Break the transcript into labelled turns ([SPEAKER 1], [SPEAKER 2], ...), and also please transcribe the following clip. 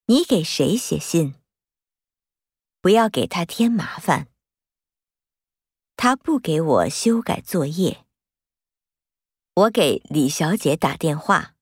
[SPEAKER 1] 你给谁写信？不要给他添麻烦。他不给我修改作业。我给李小姐打电话。